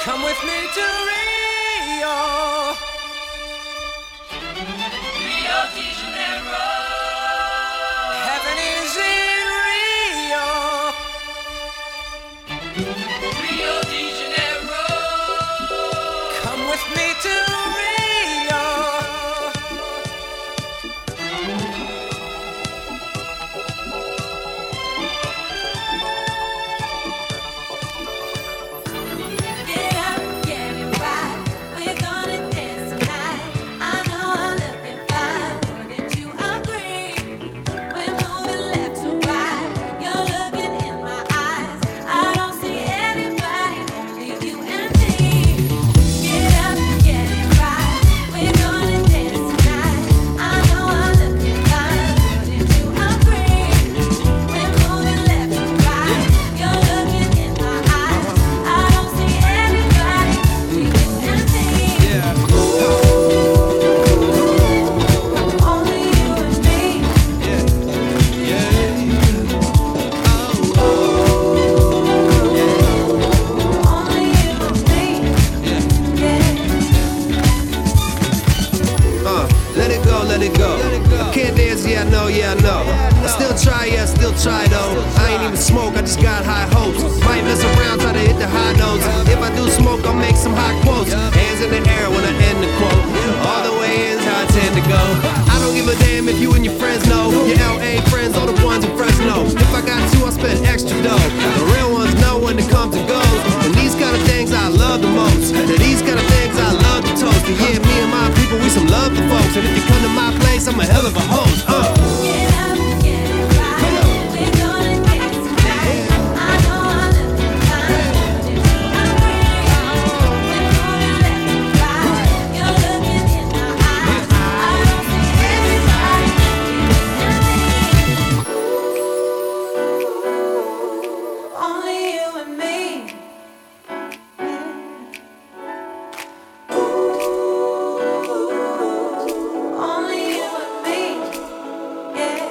Come with me to Rio. Rio de Janeiro. Heaven is in Rio. Rio de Janeiro. Come with me to Rio. Get up, get it right. We're gonna dance tonight. I know I'm looking fine. Wouldn't you agree? We're moving left to right. You're looking in my eyes. I don't see anybody, only you and me. Get up, get it right. We're gonna dance tonight. I know I'm looking fine. Wouldn't you agree? We're moving left to right. You're looking in my eyes. I don't see anybody, only you and me. Only you and me. Only you and me. Let it go, let it go. I can't dance, yeah, I know, yeah, I know. I still try, yeah, I still try though. I ain't even smoke, I just got high hopes. Might mess around, try to hit the high notes. If I do smoke, I'll make some hot quotes. Hands in the air when I end the quote. All the way is how I tend to go. I don't give a damn if you and your friends know. Your LA friends, all the ones in Fresno. If I got to, I'll spend extra dough. The real ones know when it comes and goes. And these kind of things I love the most. And these kind of things I love to toast. And yeah, me and my people, we some love the folks. And if you come to my place, I'm a hell of a host. Get up, get it right. We're gonna dance tonight. I know I'm looking fine. Wouldn't you agree? We're moving left to right. You're looking in my eyes. I don't see anybody, only you and me. Only you and me. Yeah.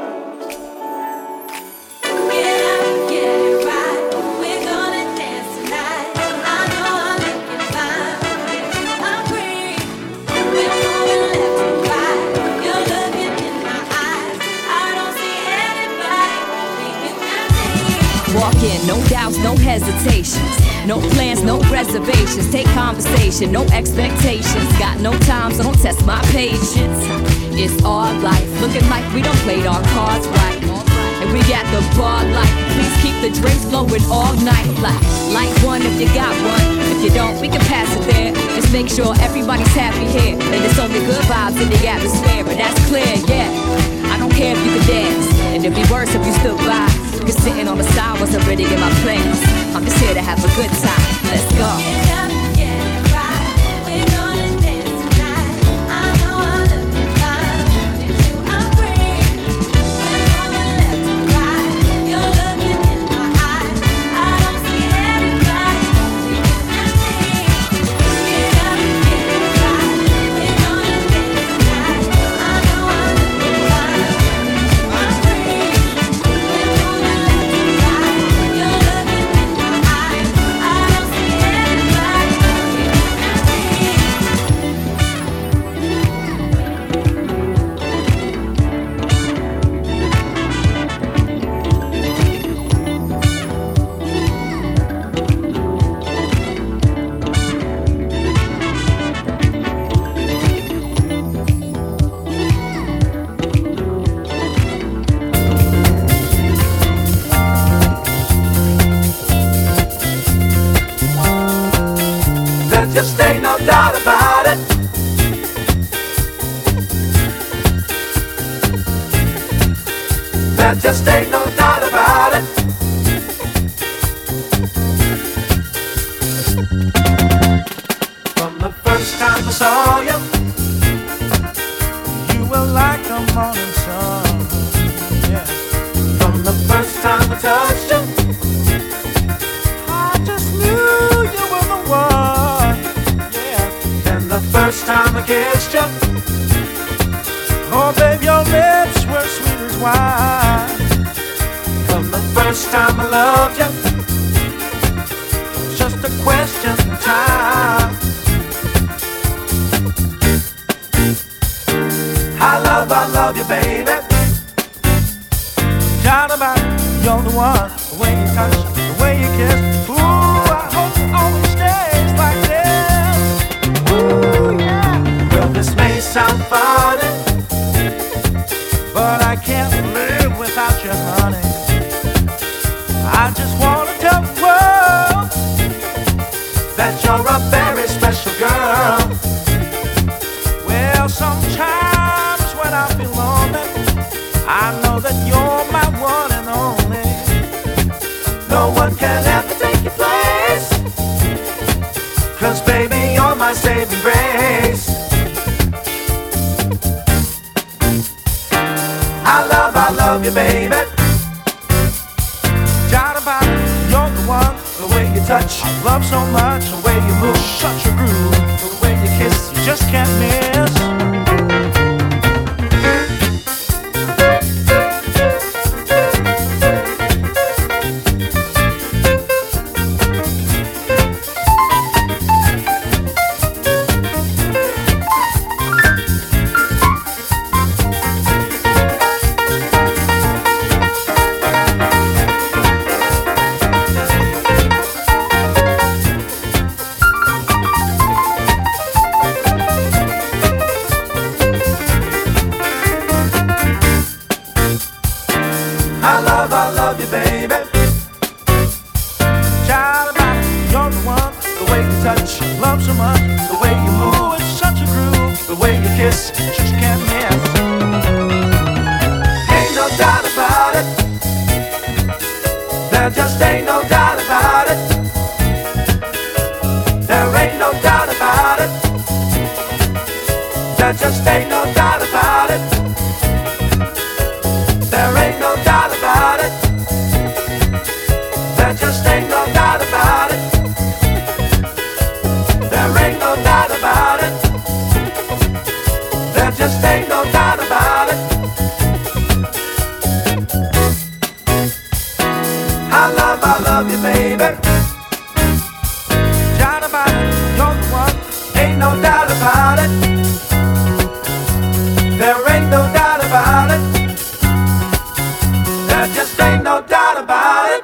Get up, get it right. We're gonna dance tonight. I know I'm looking fine. Wouldn't you agree? We're moving left to right. You're looking in my eyes. I don't see anybody, only you and me. Walk in, no doubts, no hesitations. No plans, no reservations. Take conversation, no expectations. Got no time, so don't test my patience. It's our life, looking like we don't play our cards right. And we got the bar light. Please keep the drinks flowing all night. Like one if you got one. If you don't, we can pass it there. Just make sure everybody's happy here. And it's only good vibes in the atmosphere, but that's clear, yeah. I don't care if you can dance, and it'd be worse if you stood by. Cause sitting on the side wasn't really in my plans. I'm just here to have a good time. Let's go. Get up, get it right. We're gonna dance tonight. I know I'm looking fine. Wouldn't you agree? We're moving left to right. You're looking in my eyes. I don't see anybody, only you and me. Get up, get it right. We're gonna dance tonight. I know I'm looking fine. Wouldn't you agree? We're moving left to right. You're looking in my eyes. I don't see anybody, only you and me. There just ain't no doubt about it. There just ain't no doubt about it. From the first time I saw you, you were like the morning sun. Yeah. From the first time I touched you, I just knew you were the one. Yeah. And the first time I kissed you, oh babe, your lips were sweet as wine. From the first time I loved you, just a question of time. love you, baby. Shout about it, you're the one. The way you touch, the way you kiss. Ooh, I hope it always stays like this. Ooh, yeah. Well, this may sound funny, but I can't live without you, honey. I just wanna tell the world that you're a very special girl. Well, sometimes when I feel lonely, I know that you're my one and only. No one can ever take your place, 'cause baby, you're my saving grace. I love you, baby. Shout about it, you're the one. The way you touch, I love so much. The way you move, such a groove. The way you kiss, you just can't miss. I love you, baby. Shout about it, you're the one. The way you touch, love so much. The way you move, it's such a groove. The way you kiss, you just can't miss. Ain't no doubt about it. There just ain't no doubt about it. There ain't no doubt about it. There just ain't no doubt about it. There ain't no doubt about it. There just ain't no doubt about it. There ain't no doubt about it. There just ain't no doubt about it. I love you, baby. Shout about it, you're the one. Ain't no doubt about it. There ain't no doubt about it. There just ain't no doubt about it.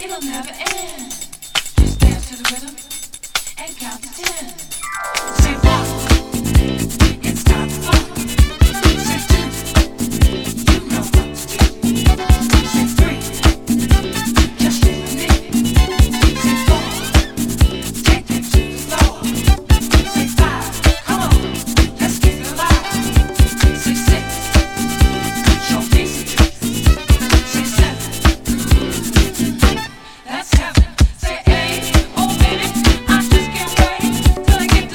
it'll never end. Just dance to the rhythm and count to 10. Say 1, it's time to flow. Say 2, you know what to do. Say 3, just you and me. Say 4, take it to the floor. Say 5, come on, let's keep it alive. Say 6, show me some tricks. Say 7, that's heaven. Say 8, oh baby, I just can't wait till I get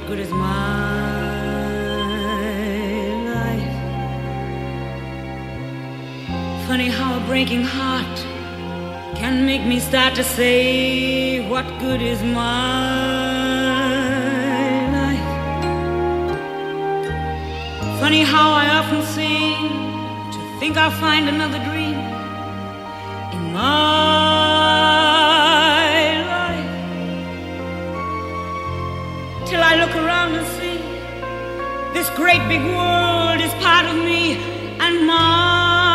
good is my life? Funny how a breaking heart can make me start to say, what good is my life? Funny how I often seem to think I'll find another dream in my life, till I look around and see this great big world is part of me and my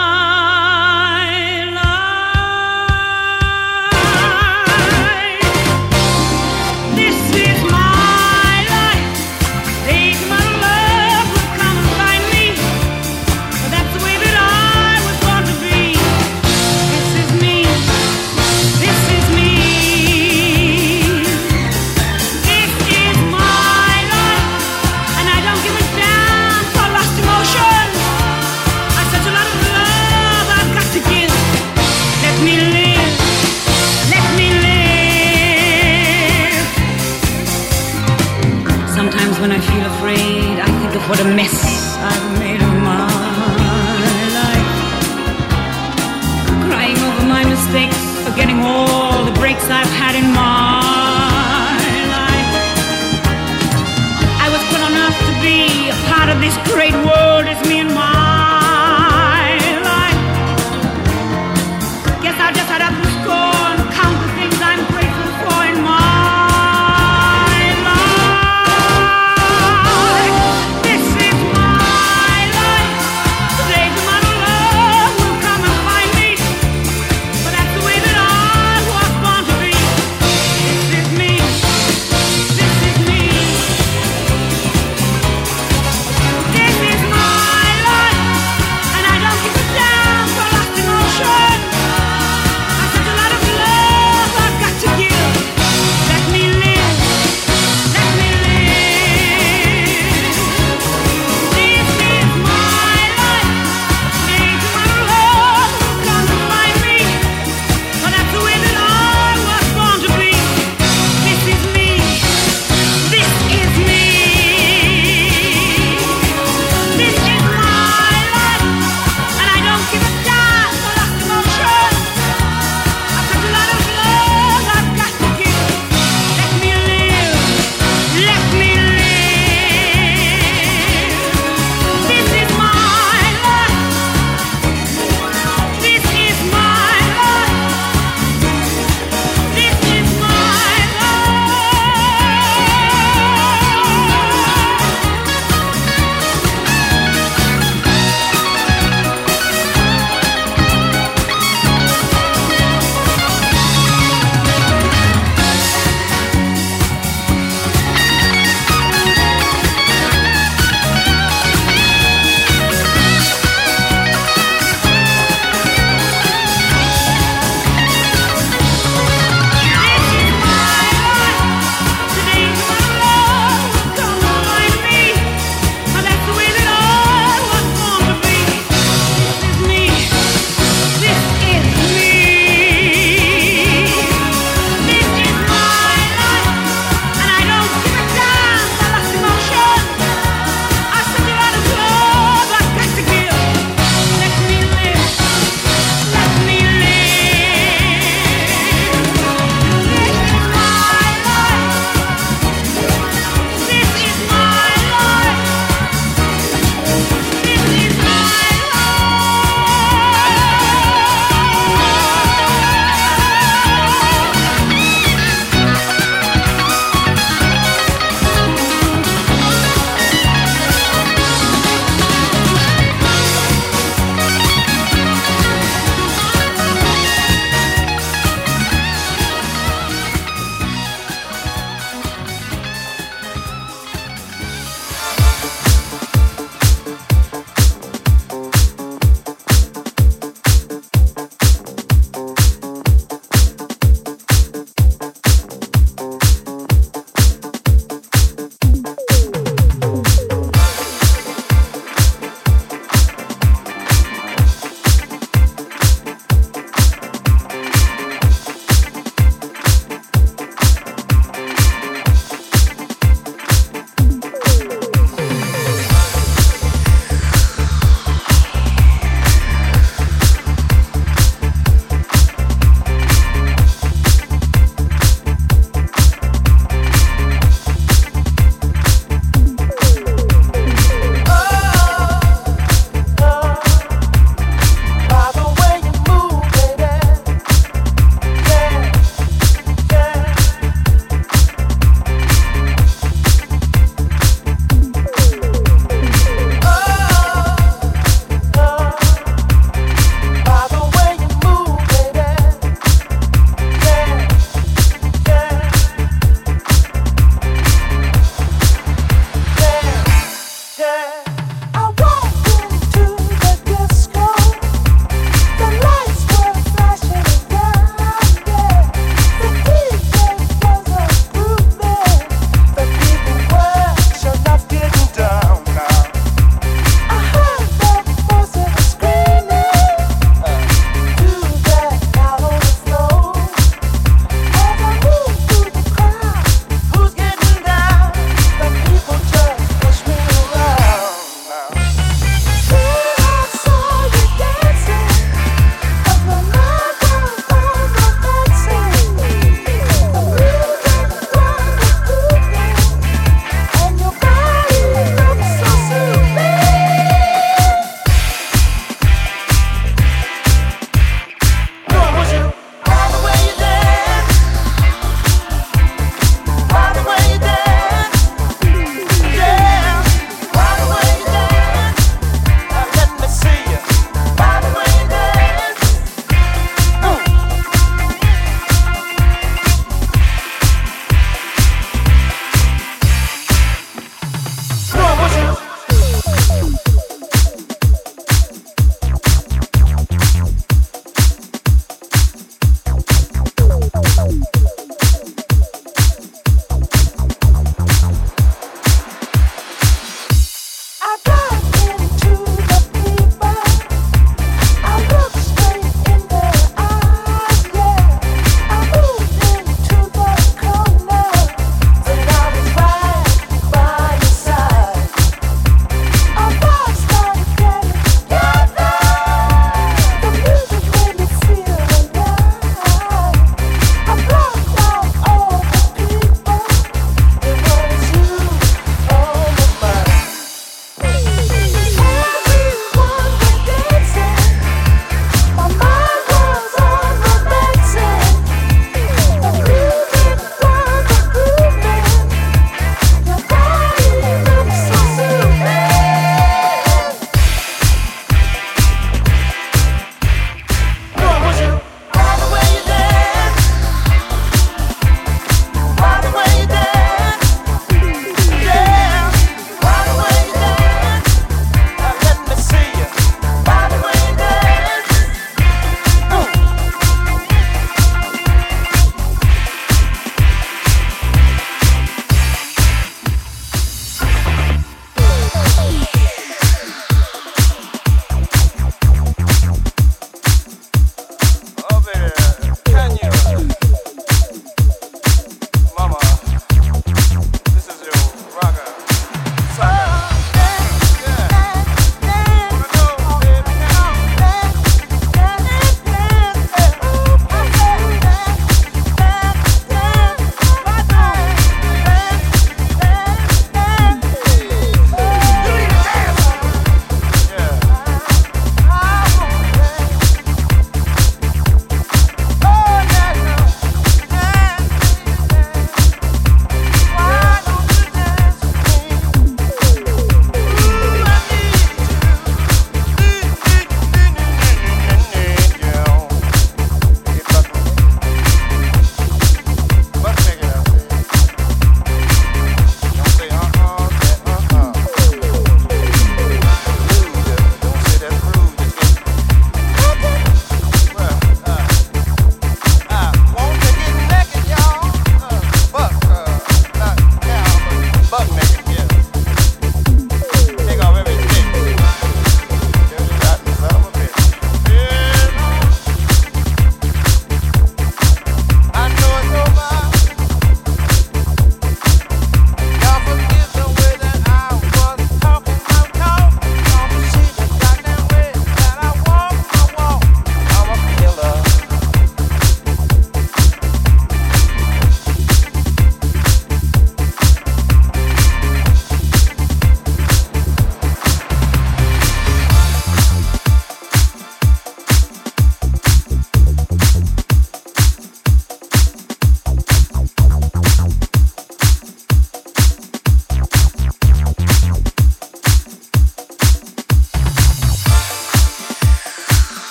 when I feel afraid, I think of what a mess I've made of my life. Crying over my mistakes, forgetting all the breaks I've had in my life. I was put on earth to be a part of this great world, it's me and my life. Guess I'll just add up the score and count the things I'm grateful for in my this is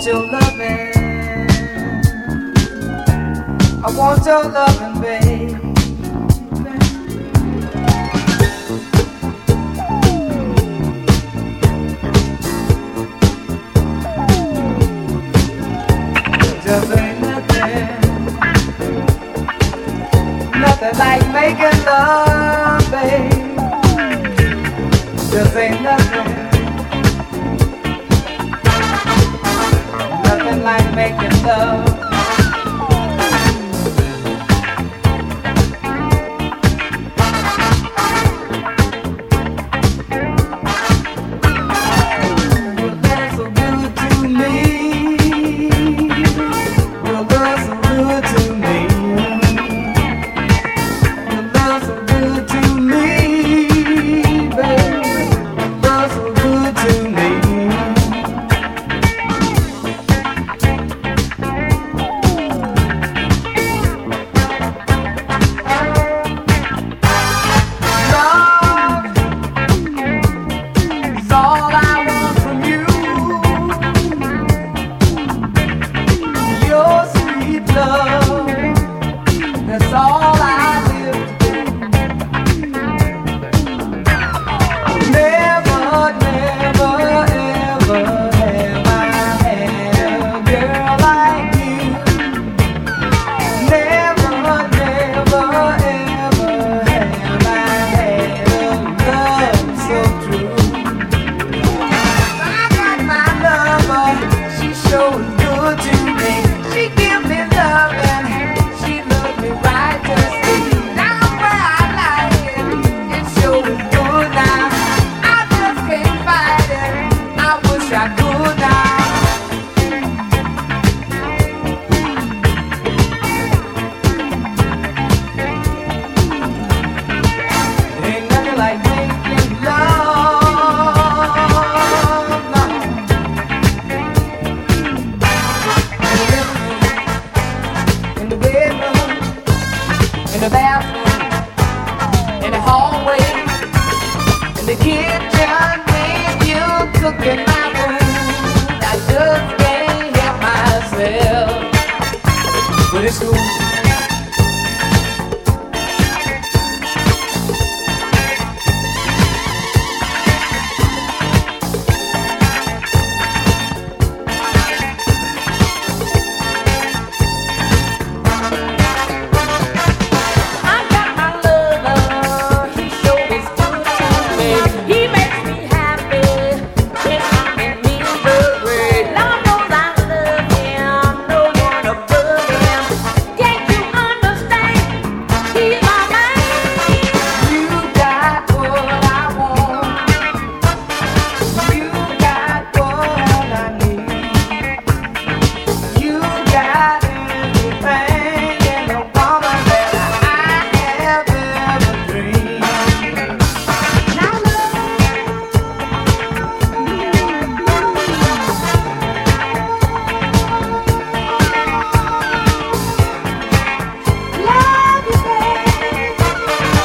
your loving. I want your loving, babe. Just ain't nothing like making love, babe. Just ain't nothing like making love.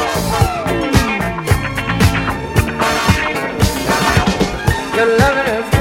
Your loving is